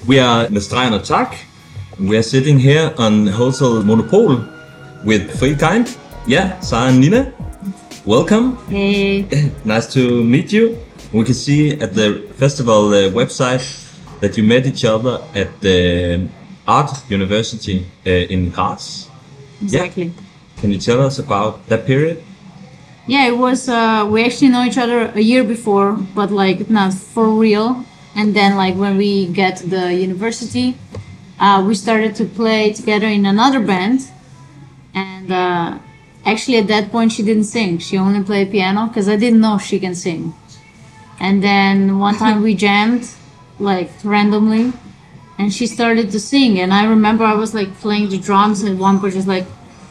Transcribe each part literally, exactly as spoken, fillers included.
We are med Stregen og Tak. We are sitting here on Hotel Monopol with Three Kind. Yeah, Sarah and Nina. Welcome. Hey. Nice to meet you. We can see at the festival uh, website that you met each other at the Art University uh, in Graz. Exactly. Yeah. Can you tell us about that period? Yeah, it was, uh, we actually know each other a year before, but like not for real. And then like when we get to the university, uh, we started to play together in another band. And uh, actually at that point she didn't sing. She only played piano because I didn't know she can sing. And then one time we jammed like randomly and she started to sing. And I remember I was like playing the drums and one person was like,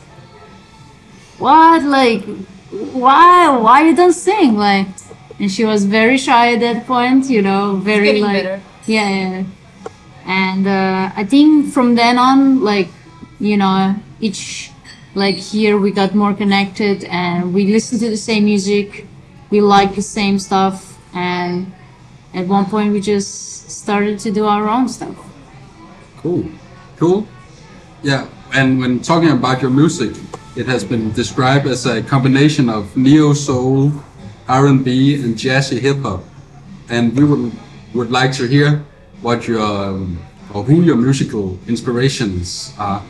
what? Like, why? Why you don't sing? Like, and she was very shy at that point, you know, very getting like, better. yeah, yeah. And uh, I think from then on, like, you know, each like year we got more connected and we listened to the same music, we liked the same stuff, and at one point we just started to do our own stuff. Cool. Cool. Yeah, and when talking about your music, it has been described as a combination of neo-soul, R and B, and jazzy hip-hop. And we would would like to hear what your um, or who your musical inspirations are.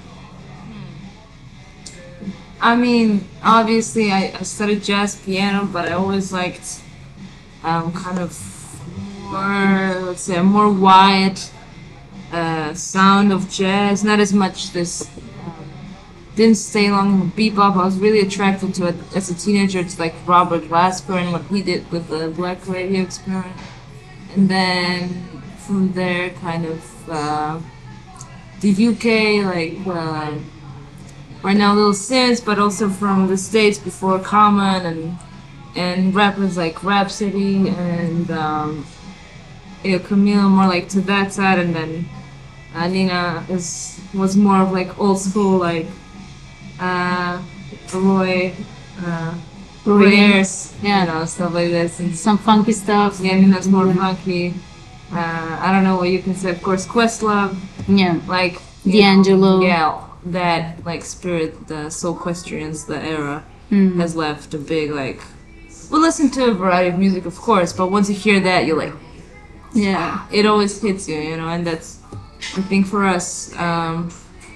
I mean, obviously, I, I studied jazz piano, but I always liked um, kind of more, let's say, a more wide uh, sound of jazz. Not as much this. Um, didn't stay long with bebop. I was really attracted to it as a teenager to like Robert Glasper and what he did with the Black Radio Experiment. And then from there, kind of uh, the U K, like. Uh, Right now, Lil Sims, but also from the States before Common and and rappers like Rhapsody and um, you know, Camille more like to that side, and then uh, Nina is was more of like old school like uh, Roy, uh, Roy Ayers, Yeah. you know, stuff like this, and Some funky stuff. yeah, Nina's more funky. Uh, I don't know what you can say. Of course, Questlove, Yeah. like you D'Angelo. know, yeah. That like spirit, the Soulquestrians, the era Mm. has left a big like. We listen to a variety of music, of course, but once you hear that, you're like, Yeah. it always hits you, you know, and that's, I think for us, um,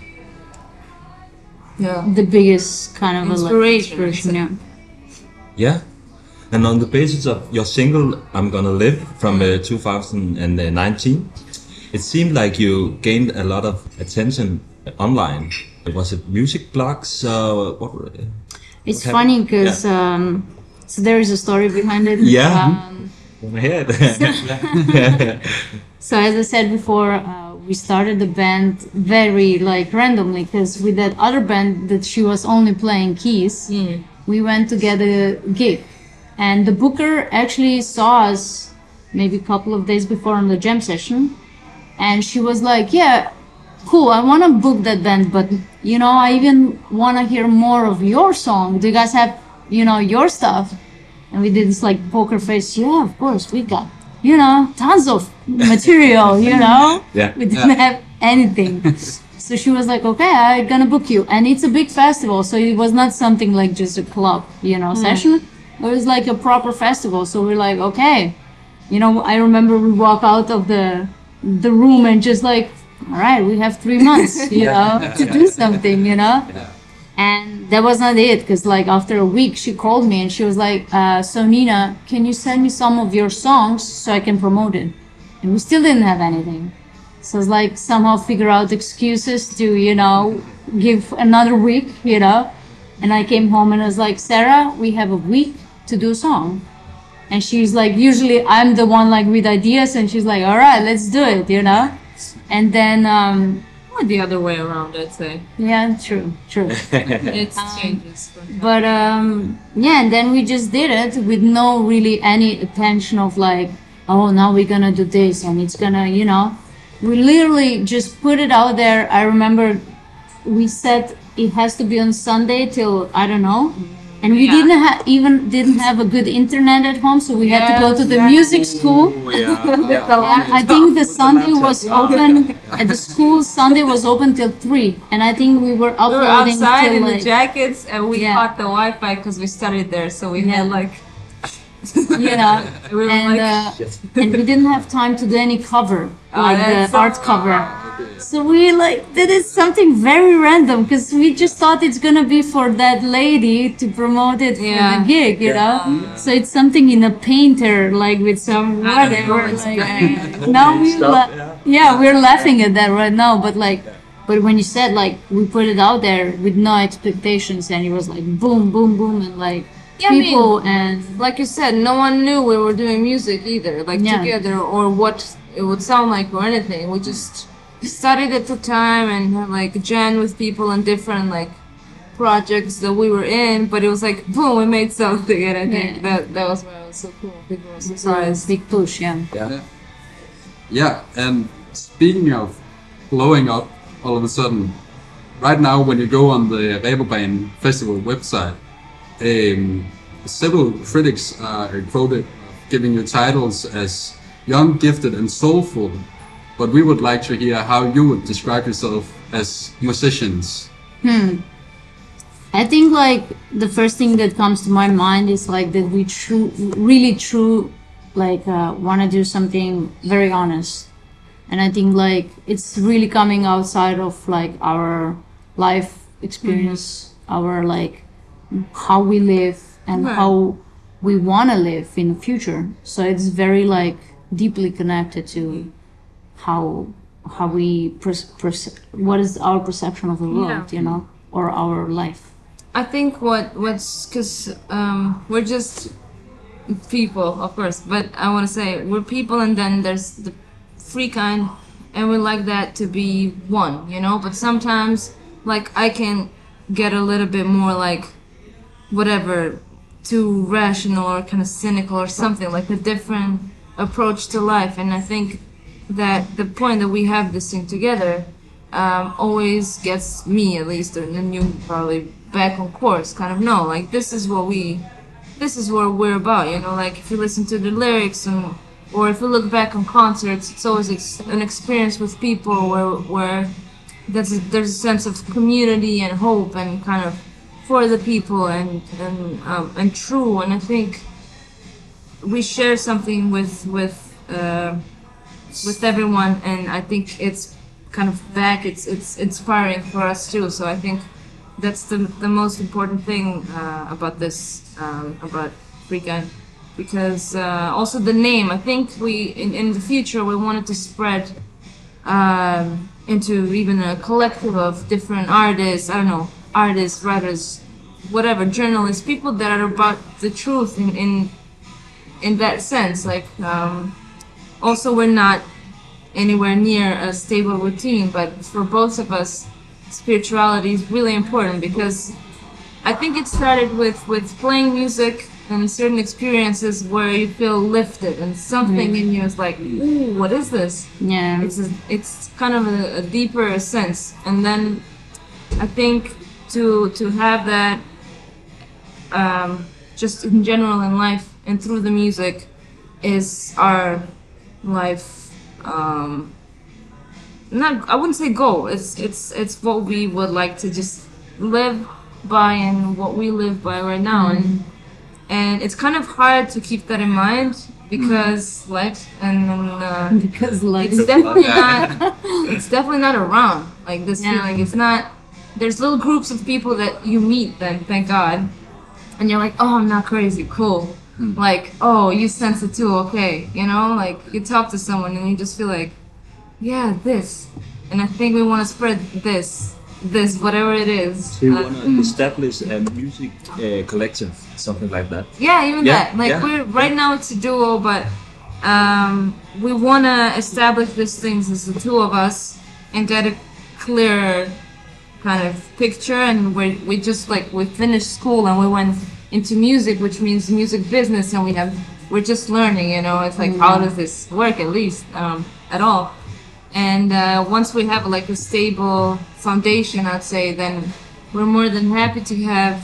yeah, The biggest kind of Inspiration, like, inspiration, yeah. Yeah. And on the basis of your single I'm Gonna Live from uh, two thousand nineteen, it seemed like you gained a lot of attention online. Was it music blogs? Uh, what? were- It's What funny happened? because um, so there is a story behind it. Yeah. Um, Wanna hear it? so as I said before, uh, we started the band very like randomly because with that other band that she was only playing keys, we went to get a gig, and the booker actually saw us maybe a couple of days before on the jam session, and she was like, "Yeah. Cool, I want to book that band, but you know, I even want to hear more of your song. Do you guys have, you know, your stuff?" And we did this like poker face. Yeah, of course, we got, you know, tons of material, you know? Yeah. We didn't have anything. So she was like, okay, I'm gonna book you. And it's a big festival, so it was not something like just a club, you know, session. It was like a proper festival. So we're like, okay. You know, I remember we walk out of the the room and just like, all right, we have three months, you know, to do something, you know? Yeah. And that was not it, because like after a week, she called me and she was like, uh, so Nina, can you send me some of your songs so I can promote it? And we still didn't have anything. So it's like somehow figure out excuses to, you know, give another week, you know? And I came home and I was like, Sarah, we have a week to do a song. And she's like, usually I'm the one like with ideas, and she's like, all right, let's do it, you know? And then, um, or the other way around, I'd say. yeah, true, true. It changes. But um, yeah, and then we just did it with no really any attention of like, oh, now we're gonna do this and it's gonna, you know. We literally just put it out there. I remember we said it has to be on Sunday till, I don't know. And we Yeah. didn't have even didn't have a good internet at home, so we had to go Yes, to the exactly. music school. Oh, yeah. The yeah. And I think the Sunday was open at the school. Sunday was open till three, and I think we were We were uploading outside till in the like jackets, and we Yeah. caught the Wi-Fi because we studied there, so we had Yeah. like. you know, we were and like, uh, and we didn't have time to do any cover Oh, like that's the so- art cover. So we like did it something very random because we just thought it's gonna be for that lady to promote it for Yeah. the gig, you know. So it's something in a painter, like with some whatever. Like now we Stuff, la- yeah. yeah, we're laughing at that right now, but like. But when you said like we put it out there with no expectations and it was like boom, boom, boom, and like Yeah, I mean, people and like you said, no one knew we were doing music either, like Yeah. together, or what it would sound like or anything. We just studied at the time and had like jam with people in different like projects that we were in. But it was like boom, we made something, and I think Yeah. that that was why it was so cool. People were it's a surprised. big push, yeah. Yeah. Yeah, and speaking of blowing up all of a sudden, right now when you go on the Reeperbahn Festival website, um, several critics are quoted giving you titles as young, gifted, and soulful. But we would like to hear how you would describe yourself as musicians. I think like the first thing that comes to my mind is like that we true, really true, like uh, want to do something very honest, and I think like it's really coming outside of like our life experience, our like how we live and Right. how we want to live in the future. So it's very like deeply connected to how how we pers- pers- what is our perception of the world, Yeah. you know, or our life. I think what what's because um, we're just people, of course, but I want to say we're people, and then there's the free kind, and we like that to be one, you know. But sometimes, like I can get a little bit more like whatever, too rational or kind of cynical or something, like a different approach to life. And I think that the point that we have this thing together um, always gets me, at least, and then you probably back on course, kind of know, like this is what we, this is what we're about, you know. Like if you listen to the lyrics and or if you look back on concerts, it's always ex- an experience with people where where there's a, there's a sense of community and hope and kind of for the people and and um, and true. And I think we share something with with uh, with everyone, and I think it's kind of back. It's it's inspiring for us too. So I think that's the the most important thing uh, about this um, about Freakin', because uh, also the name. I think we in, in the future we wanted to spread um, into even a collective of different artists. I don't know, artists, writers, whatever, journalists, people that are about the truth in in, in that sense. Like um, also we're not anywhere near a stable routine, but for both of us, spirituality is really important, because I think it started with with playing music and certain experiences where you feel lifted and something in you is like, ooh, what is this? Yeah. It's a, it's kind of a, a deeper sense, and then I think to to have that um, just in general in life and through the music is our life. Um, not I wouldn't say goal. It's it's it's what we would like to just live by and what we live by right now, and and it's kind of hard to keep that in mind because life and uh, Because like it's definitely not it's definitely not around like this Yeah. feeling. It's not. There's little groups of people that you meet then, thank God, and you're like, oh, I'm not crazy, cool. Like, oh, you sense it too, okay, you know, like you talk to someone and you just feel like, yeah, this, and I think we want to spread this, this, whatever it is. So you Uh, want to establish a music uh, collective, something like that? Yeah, even Yeah, that. Like yeah, we're right now it's a duo, but um, we want to establish these things as the two of us and get a clearer kind of picture. And we we just like we finished school and we went into music, which means music business, and we have we're just learning. You know, it's like how does this work at least um, at all. And uh, once we have like a stable foundation, I'd say, then we're more than happy to have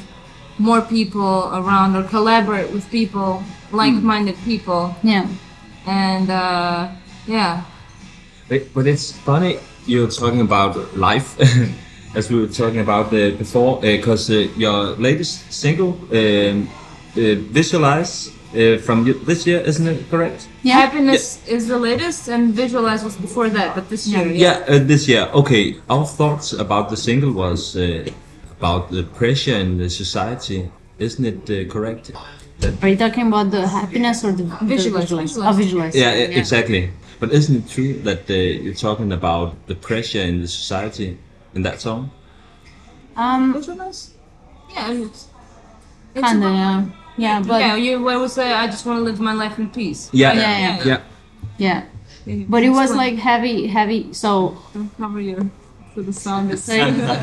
more people around or collaborate with people, like-minded people, Yeah. and uh, yeah. But, but it's funny you're talking about life, as we were talking about uh, before, because uh, your latest single, um, uh, Visualize, uh, from y- this year, isn't it correct? Yeah. Happiness is the latest, and Visualize was before that, but this year, Yeah, uh, this year. Okay, our thoughts about the single was uh, about the pressure in the society, isn't it uh, correct? That, Are you talking about the happiness or the the Visualize, visualize? visualize. Oh, visualize. yeah, e- exactly. But isn't it true that uh, you're talking about the pressure in the society in that song? Um, Visualize? Yeah, I mean, it's, it's kinda, about- yeah. Yeah, but yeah, you I would say I just want to live my life in peace. Yeah, Yeah, yeah. yeah. yeah. Yeah, But it was explain. like heavy, heavy. So Don't cover your so the sound is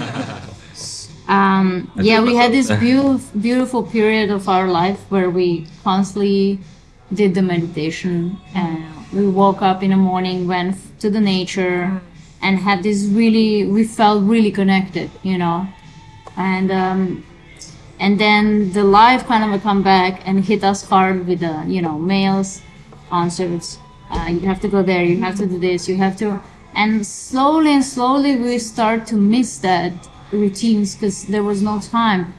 um, I yeah, did we had this myself. beautiful, beautiful period of our life where we constantly did the meditation, and we woke up in the morning, went f- to the nature, and had this really. We felt really connected, you know, and um, and then the life kind of come back and hit us hard with the you know mails, answers. Uh, you have to go there. You have to do this. You have to, and slowly and slowly we start to miss that routines because there was no time.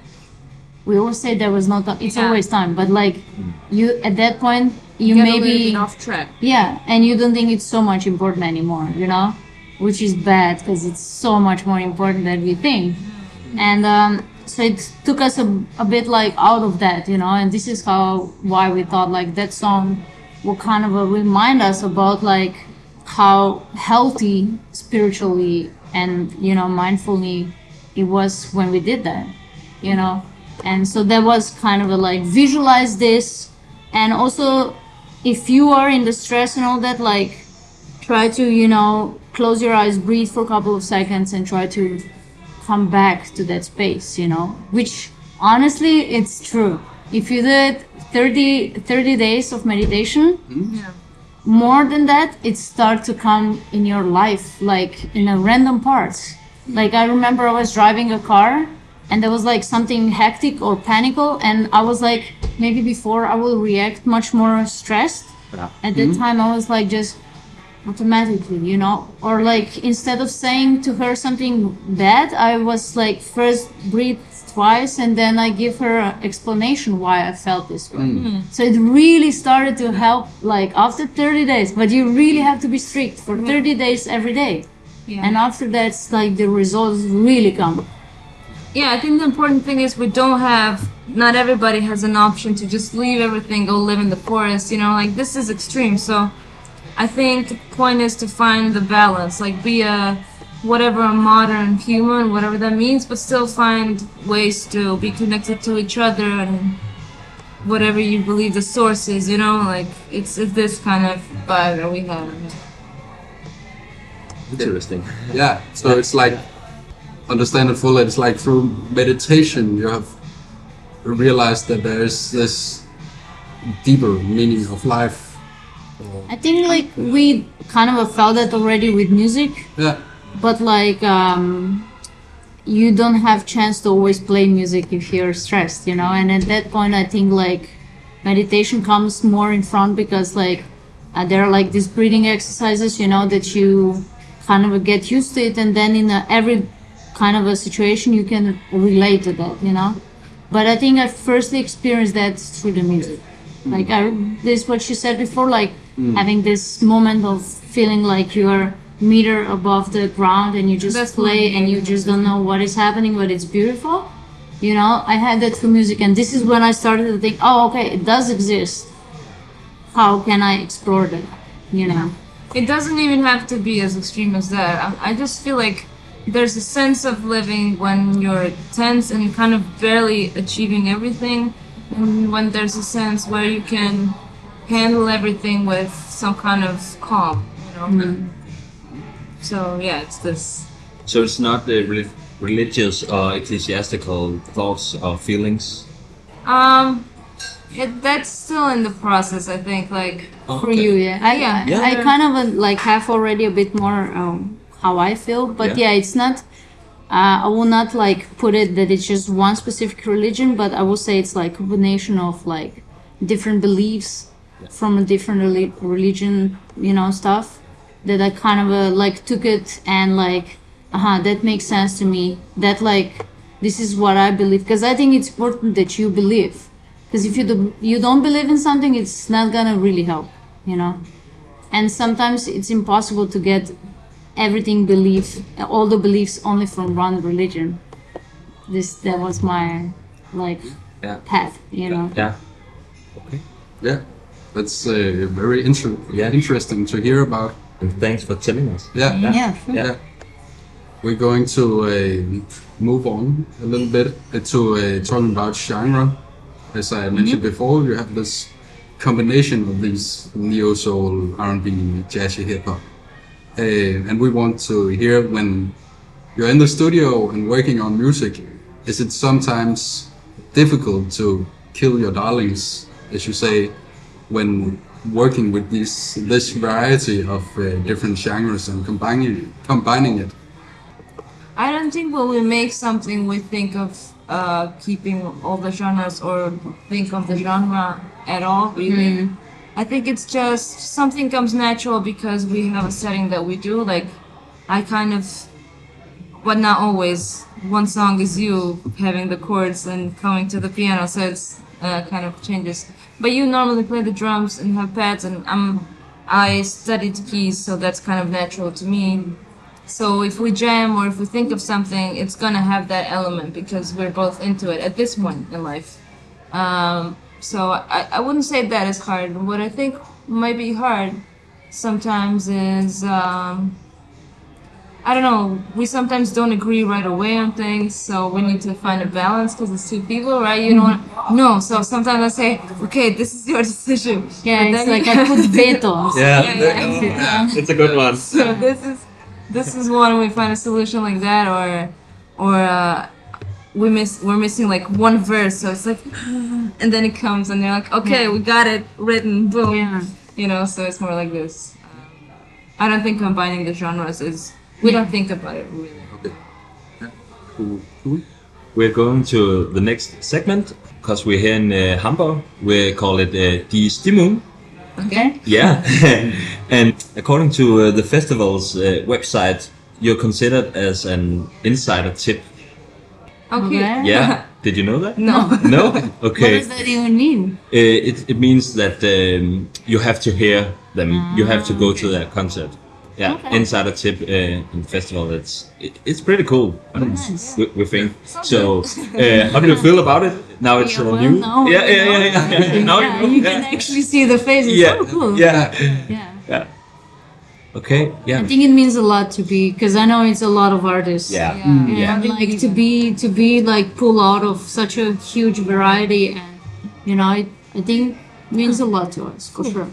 We always say there was no time. It's Yeah. always time, but like you at that point you Get a maybe little bit off track. yeah, and you don't think it's so much important anymore, you know, which is bad because it's so much more important than we think. And um, so it took us a, a bit like out of that, you know, and this is how why we thought like that song will kind of uh, remind us about like how healthy spiritually and you know mindfully it was when we did that, you know. And so that was kind of a like visualize this, and also if you are in the stress and all that, like try to you know close your eyes, breathe for a couple of seconds, and try to come back to that space, you know, which honestly it's true. If you did thirty, thirty days of meditation, Yeah. more than that it starts to come in your life like in a random parts. Like I remember I was driving a car and there was like something hectic or panical, and I was like maybe before I will react much more stressed. Yeah. At that time I was like just automatically, you know, or like instead of saying to her something bad, I was like first breathe twice and then I give her an explanation why I felt this way. So it really started to help like after thirty days, but you really have to be strict for thirty days every day. Yeah. And after that, it's like the results really come. Yeah, I think the important thing is we don't have, not everybody has an option to just leave everything, go live in the forest, you know, like this is extreme. So I think the point is to find the balance, like be a, whatever, a modern human, whatever that means, but still find ways to be connected to each other and whatever you believe the source is, you know, like it's, it's this kind of vibe that we have. Interesting. Yeah, so it's like, understand it fully, it's like through meditation you have realized that there's this deeper meaning of life. I think like we kind of felt that already with music, Yeah, but like um, you don't have chance to always play music if you're stressed, you know. And at that point, I think like meditation comes more in front because like uh, there are like these breathing exercises, you know, that you kind of get used to it, and then in a, every kind of a situation you can relate to that, you know. But I think I firstly experienced that through the music. Like I, this what she said before, like having this moment of feeling like you're meter above the ground and you just That's play what- and you just don't know what is happening, but it's beautiful. You know, I had that through music, and this is when I started to think, oh, okay, it does exist. How can I explore that? You know. It doesn't even have to be as extreme as that. I, I just feel like there's a sense of living when you're tense and kind of barely achieving everything, and when there's a sense where you can handle everything with some kind of calm, you know. So yeah, it's this. So it's not the rel- religious or ecclesiastical thoughts or feelings. Um, it, that's still in the process, I think. Like, For you, yeah. I, Yeah. I, Yeah. I kind of uh, like have already a bit more um, how I feel, but Yeah. yeah. it's not. uh, I will not like put it that it's just one specific religion, but I will say it's like a combination of like different beliefs from a different reli- religion, you know, stuff that I kind of uh, like took it and like, uh-huh, that makes sense to me. That like, this is what I believe, because I think it's important that you believe. Because if you do, you don't believe in something, it's not gonna really help, you know. And sometimes it's impossible to get everything belief, all the beliefs only from one religion. This that was my like Yeah. path, you know. Yeah. Okay. Yeah, that's uh, very inter- Yeah. interesting to hear about. And thanks for telling us. Yeah, Yeah, sure. yeah. We're going to uh, move on a little bit to uh, talking about genre. As I mentioned before, you have this combination of these neo soul, R and B, jazzy hip hop, uh, and we want to hear when you're in the studio and working on music. Is it sometimes difficult to kill your darlings, as you say, when working with this this variety of uh, different genres and combining combining it? I don't think when we make something we think of uh, keeping all the genres or think of the genre at all, really. I think it's just something comes natural because we have a setting that we do. Like, I kind of, but not always. One song is you having the chords and coming to the piano, so it's uh, kind of changes. But you normally play the drums and have pads, and I'm, I studied keys, so that's kind of natural to me. So if we jam or if we think of something, it's gonna have that element because we're both into it at this point in life. Um, so I, I wouldn't say that is hard. What I think might be hard sometimes is, um, I don't know, we sometimes don't agree right away on things, so we need to find a balance because it's two people, right? You don't want, no, so sometimes I say, okay, this is your decision. Yeah, But it's then like you- I put vetoes. Yeah. Yeah, yeah, yeah. It's a good one. So this is this is one we find a solution like that, or or uh, we miss we're missing like one verse, so it's like, and then it comes and they're like, okay, we got it written, boom, Yeah. you know. So it's more like this. Um, I don't think combining the genres is we don't think about it really. Okay. Yeah. Cool. Cool. We're going to the next segment because we're here in uh, Hamburg. We call it uh, Die Stimmung. Okay. Yeah. And according to uh, the festival's uh, website, you're considered as an insider tip. Okay. Okay. Yeah. Did you know that? No. No? What Okay. does that even mean? Uh, it, it means that um, you have to hear them. You have to go to their concert. Yeah, Okay. insider tip uh, in festival. It's it, it's pretty cool. Nice. We, we think so. Uh, how do you feel about it? Now it's Yeah, uh, well, new. now yeah, we yeah, know yeah, yeah, yeah, yeah. Now yeah, you know. you can yeah. actually see the faces. Yeah, Oh, cool. yeah, Yeah. yeah. Okay, yeah, I think it means a lot to be, because I know it's a lot of artists. yeah, Yeah. yeah. And like to be to be like pull out of such a huge variety, and you know, it, I think means a lot to us for sure.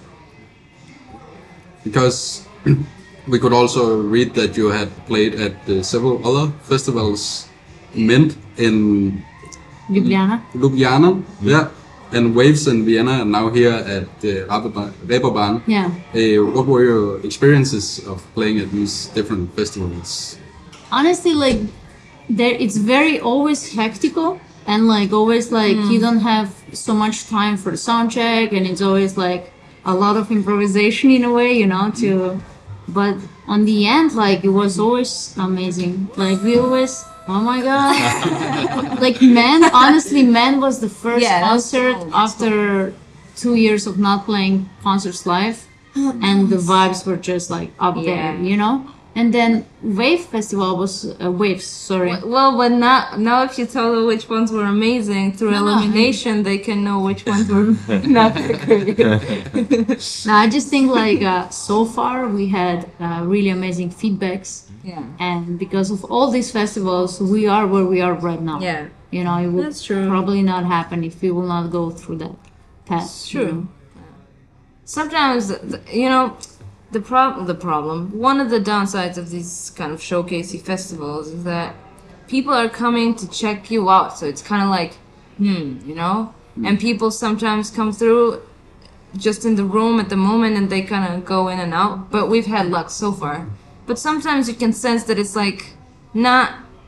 Because we could also read that you had played at uh, several other festivals, Mint in Ljubljana. Ljubljana, yeah, and Waves in Vienna, and now here at the uh, Reeperbahn. Yeah. Uh, what were your experiences of playing at these different festivals? Honestly, like there, it's very always hectical, and like always like you don't have so much time for the sound check, and it's always like a lot of improvisation in a way, you know, to. But on the end, like it was always amazing. Like we always, oh my god, like Man, honestly, Man was the first Yeah, that's concert cool. after two years of not playing concerts live, and the vibes were just like up there, Yeah. you know. And then Wave Festival was uh, Waves, sorry. Well, but now, now if you tell them which ones were amazing through No, no. elimination, they can know which ones were not that great. No, I just think like uh, so far we had uh, really amazing feedbacks, Yeah. and because of all these festivals, we are where we are right now. Yeah. You know, it would That's true. probably not happen if we will not go through that path. It's you true. know. Sometimes, the- you know, the problem, the problem, one of the downsides of these kind of showcasey festivals is that people are coming to check you out. So it's kind of like, hmm, you know? And people sometimes come through just in the room at the moment and they kind of go in and out. But we've had luck so far. But sometimes you can sense that it's like not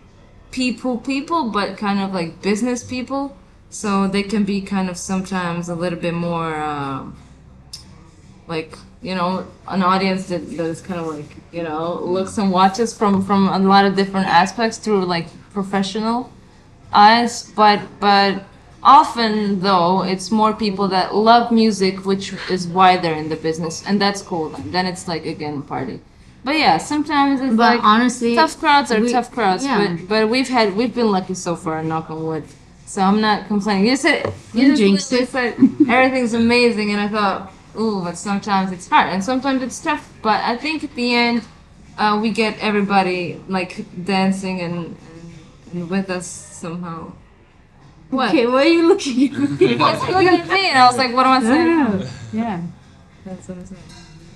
people people, but kind of like business people. So they can be kind of sometimes a little bit more um, like, you know, an audience that, that is kind of like, you know, looks and watches from from a lot of different aspects through like professional eyes. But but often though, it's more people that love music, which is why they're in the business, and that's cool. Then then it's like again party. But yeah, sometimes it's But like honestly, tough crowds are we- tough crowds. yeah. But but we've had we've been lucky so far. Knock on wood. So I'm not complaining. You said you You just jinxed literally it. said everything's amazing, and I thought, ooh, but sometimes it's hard, and sometimes it's tough. But I think at the end, uh, we get everybody like dancing and, and, and with us somehow. What? Okay, why are you looking at me? What's looking at me? And I was like, what am I saying? Yeah. That's what I'm saying.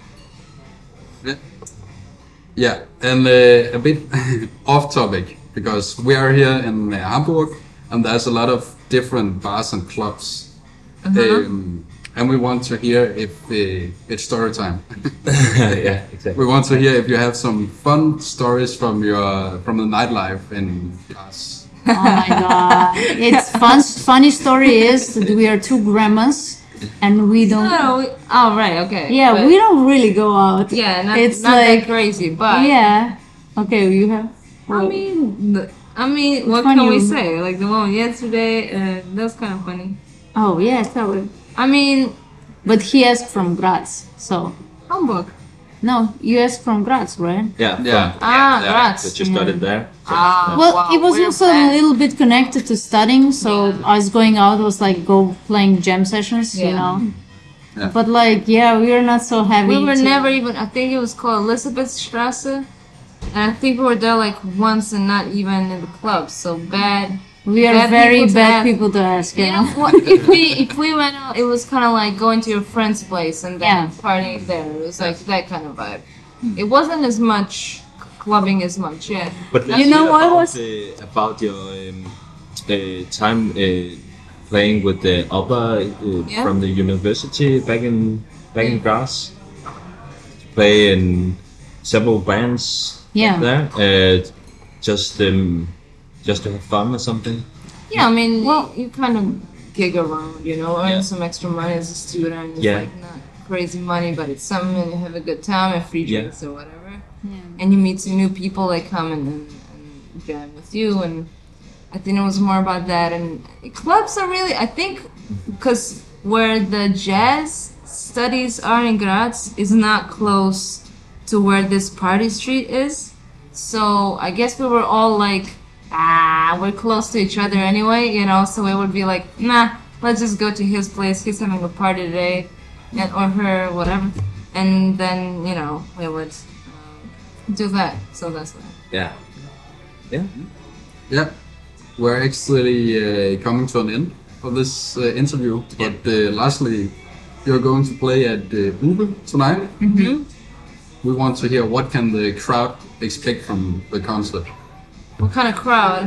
Yeah, yeah, and uh, a bit off topic because we are here in uh, Hamburg, and there's a lot of different bars and clubs, um, and we want to hear if uh, it's story time. Yeah, exactly. We want to hear if you have some fun stories from your from the nightlife in Graz. Oh my god. It's fun. Funny story is that we are two grandmas and we don't. No, we, oh right, okay. Yeah, But- we don't really go out. Yeah, not, it's not like that crazy, but yeah. Okay, you have. I mean, the, I mean, what one can we you- say? Like the one yesterday, uh, that was kind of funny. Oh yeah, tell it. I mean, But he asked from Graz, so Hamburg. no, you asked from Graz, right? Yeah. Yeah. Ah, Yeah, Graz. but you studied there. Ah, Well, wow, it was we're also bad. a little bit connected to studying, so us going out was like go playing jam sessions, you Yeah. know. Yeah. But like, yeah, we are not so heavy. We were to- never even. I think it was called Elisabethstrasse, and I think we were there like once and not even in the club. So bad. We are bad very people to bad ask. people to ask. You You know. know what? If we if we went out, it was kind of like going to your friend's place and then Yeah. partying there. It was like that kind of vibe. It wasn't as much clubbing as much. Yeah. But let's You know hear what about, was- uh, about your um, uh, time uh, playing with the opera uh, Yeah. from the university back in back in Graz. Play in several bands Yeah. there. Uh, just um, just to have fun or something. Yeah, I mean, Well- you, you kind of gig around, you know, earn Yeah. some extra money as a student. It's Yeah. like not crazy money, but it's something, and you have a good time and free Yeah. drinks or whatever. Yeah. And you meet some new people that come and, and, and jam with you. And I think it was more about that. And clubs are really, I think, because where the jazz studies are in Graz is not close to where this party street is. So I guess we were all like, ah, we're close to each other anyway, you know, so it would be like, nah, let's just go to his place. He's having a party today, and or her, whatever. And then, you know, we would um, do that. So that's why. Yeah. Yeah. Yeah, we're actually uh, coming to an end of this uh, interview. But uh, lastly, you're going to play at uh, Ube tonight. Mm-hmm. We want to hear what can the crowd expect from the concert. What kind of crowd?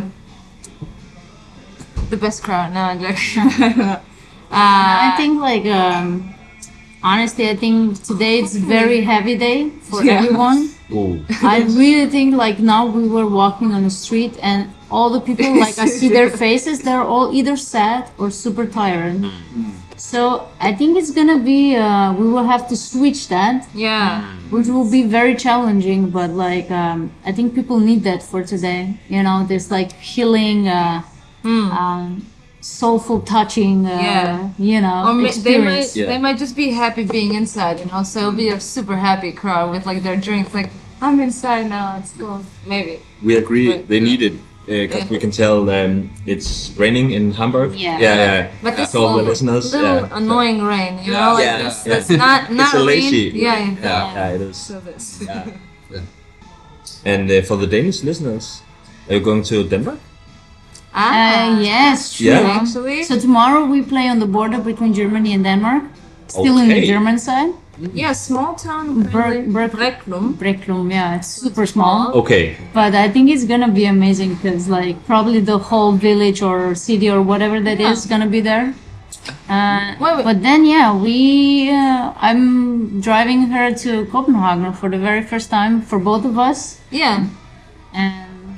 The best crowd. No, I'm joking. uh, I think like um, honestly, I think today it's very heavy day for Yeah. everyone. Ooh. I really think like now we were walking on the street and all the people like I see their faces, they're all either sad or super tired. So I think it's gonna be uh, we will have to switch that, yeah. which will be very challenging. But like um, I think people need that for today. You know, there's like healing, uh, um, soulful touching. Uh, Yeah. You know, Or ma- they might experience. Yeah. they might just be happy being inside, you know. So it'll be a super happy crowd with like their drinks. Like I'm inside now. It's cool. Maybe. We agree Right. they need it because Yeah. we can tell um, it's raining in Hamburg. Yeah. Yeah, yeah. But this So all the little, listeners, little yeah. annoying rain, you Yeah. know, like Yeah. this, Yeah. that's not not It's a lazy rain. Yeah, rain. yeah. Yeah, yeah, it is. So this. Yeah. Yeah. And uh, for the Danish listeners, are you going to Denmark? Uh, Ah, yes, true. Yeah. actually. So tomorrow we play on the border between Germany and Denmark, still in the Okay. German side. Yeah, small town. Ber- apparently. Ber- Brecklum. Brecklum, yeah, it's super small. Okay. But I think it's gonna be amazing because like probably the whole village or city or whatever that is Yeah. gonna be there. Uh, Wait, wait. But then yeah, we uh, I'm driving her to Copenhagen for the very first time for both of us, Yeah. and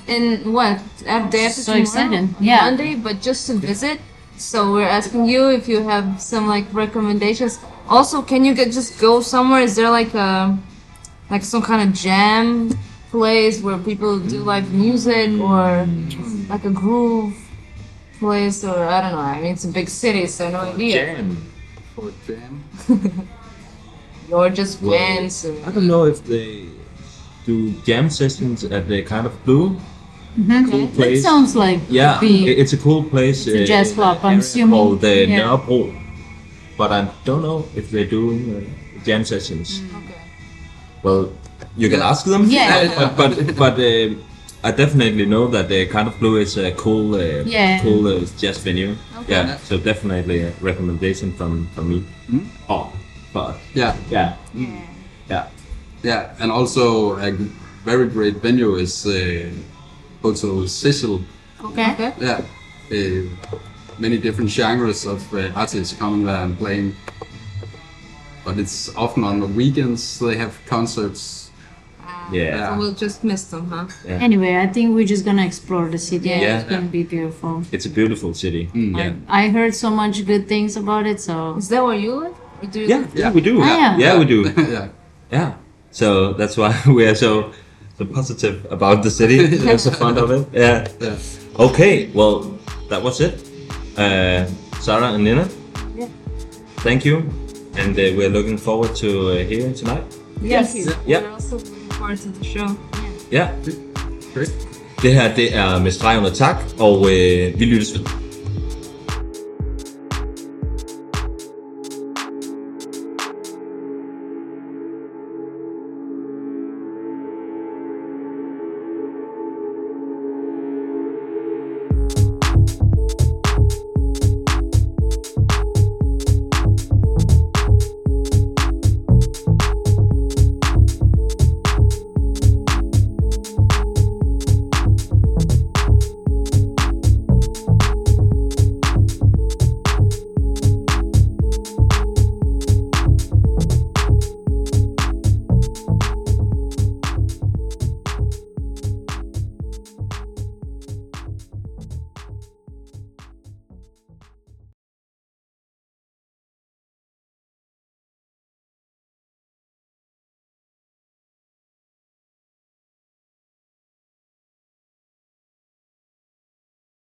in what at day after So tomorrow, excited. Yeah. Monday, but just to visit. So we're asking you if you have some like recommendations. Also, can you get just go somewhere? Is there like a like some kind of jam place where people do like music or like a groove place, or I don't know. I mean, it's a big city, so no idea. Jam. For jam. Or just Well, bands. Or... I don't know if they do jam sessions at the kind of blue. That place. sounds like Yeah, be i- it's a cool place. a jazz in club, an I'm area assuming. called the Yeah. Nørrebro, but I don't know if they do uh, jam sessions. Okay. Well, you can Yeah. ask them. Yeah. but but, but uh, I definitely know that the kind of blue is a cool, uh, Yeah. cool uh, jazz venue. Okay. Yeah, so definitely a recommendation from from me. Oh, but Yeah, yeah, yeah, yeah, and also a very great venue is uh, Hotel Cecil. okay. Okay. Yeah, uh, many different genres of uh, artists coming there and playing. But it's often on the weekends they have concerts. yeah. So we'll just miss them, huh? Anyway, I think we're just gonna explore the city. and Yeah. It's gonna be beautiful. It's a beautiful city. Yeah. I heard so much good things about it, so Is that where you live? Or do you Yeah, live- yeah, we do. Ah, yeah. yeah, we do. Yeah, Yeah. So that's why we are so so positive about the city. We're so fond of it. Yeah. yeah. Okay. Well, that was it. Uh, Sarah and Nina. Yeah. Thank you, and uh, we're looking forward to uh, hearing tonight. Yes. Yeah. We're also looking forward to the show. Ja. Great. Det her, det er med streg under tak, og øh, vi lyttes ved.